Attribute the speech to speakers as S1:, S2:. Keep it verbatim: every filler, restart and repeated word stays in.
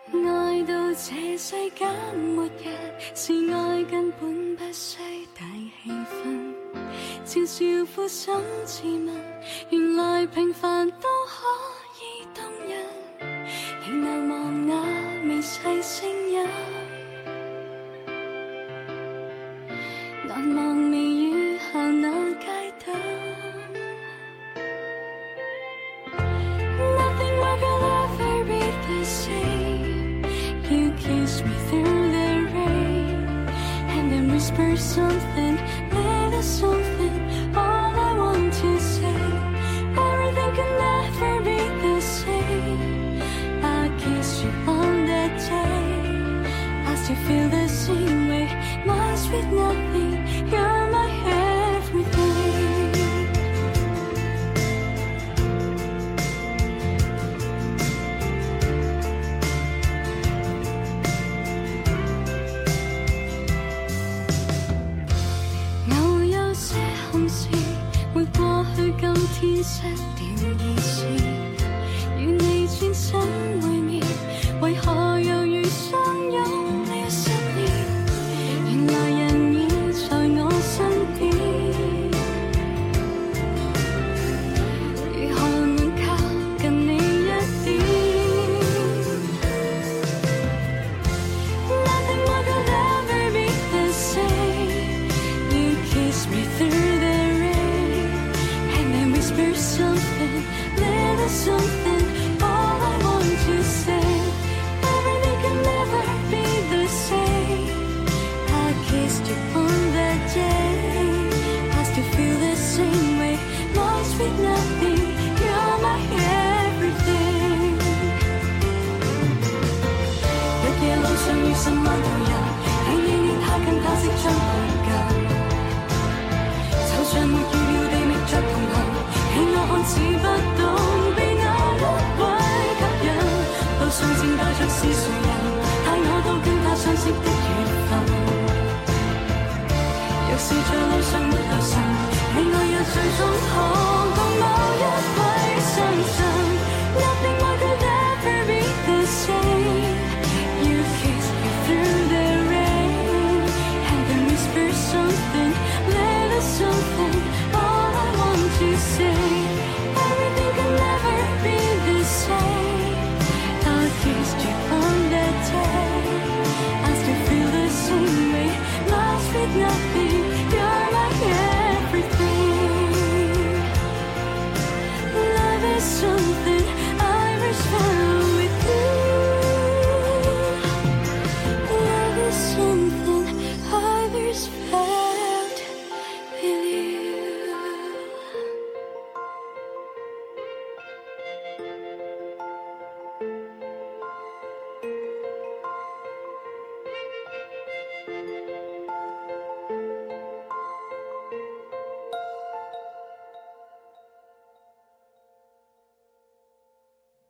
S1: 愛到這世間末日，是愛根本不需大氣氛，悄悄俯身自問，原來平凡都可以動人，仍難忘那微細聲音，難忘微雨下那街燈。Nothing more could ever be the same. You kiss me through the rain, and then whisper something, little something. All I want to say, everything could never be the same. I kiss you on that day, I still feel the same way. My sweet nothing, you're my everything. 偶有些憾事，沒過去今天失掉意思，與你轉身會面，為何猶如相擁了十年？原來人已在我身邊，如何能靠近你一點？Nothing more could ever be the same. You kiss me through the rain, and then whisper something, little something. All I want to say, everything can never be the same. I kissed you on that day, I still feel the same way. Lost with nothing, you're my everything. 日夜路上遇十萬條人，你你你太近他即將步近，就像沒預料地覓着同行，你我看似不到。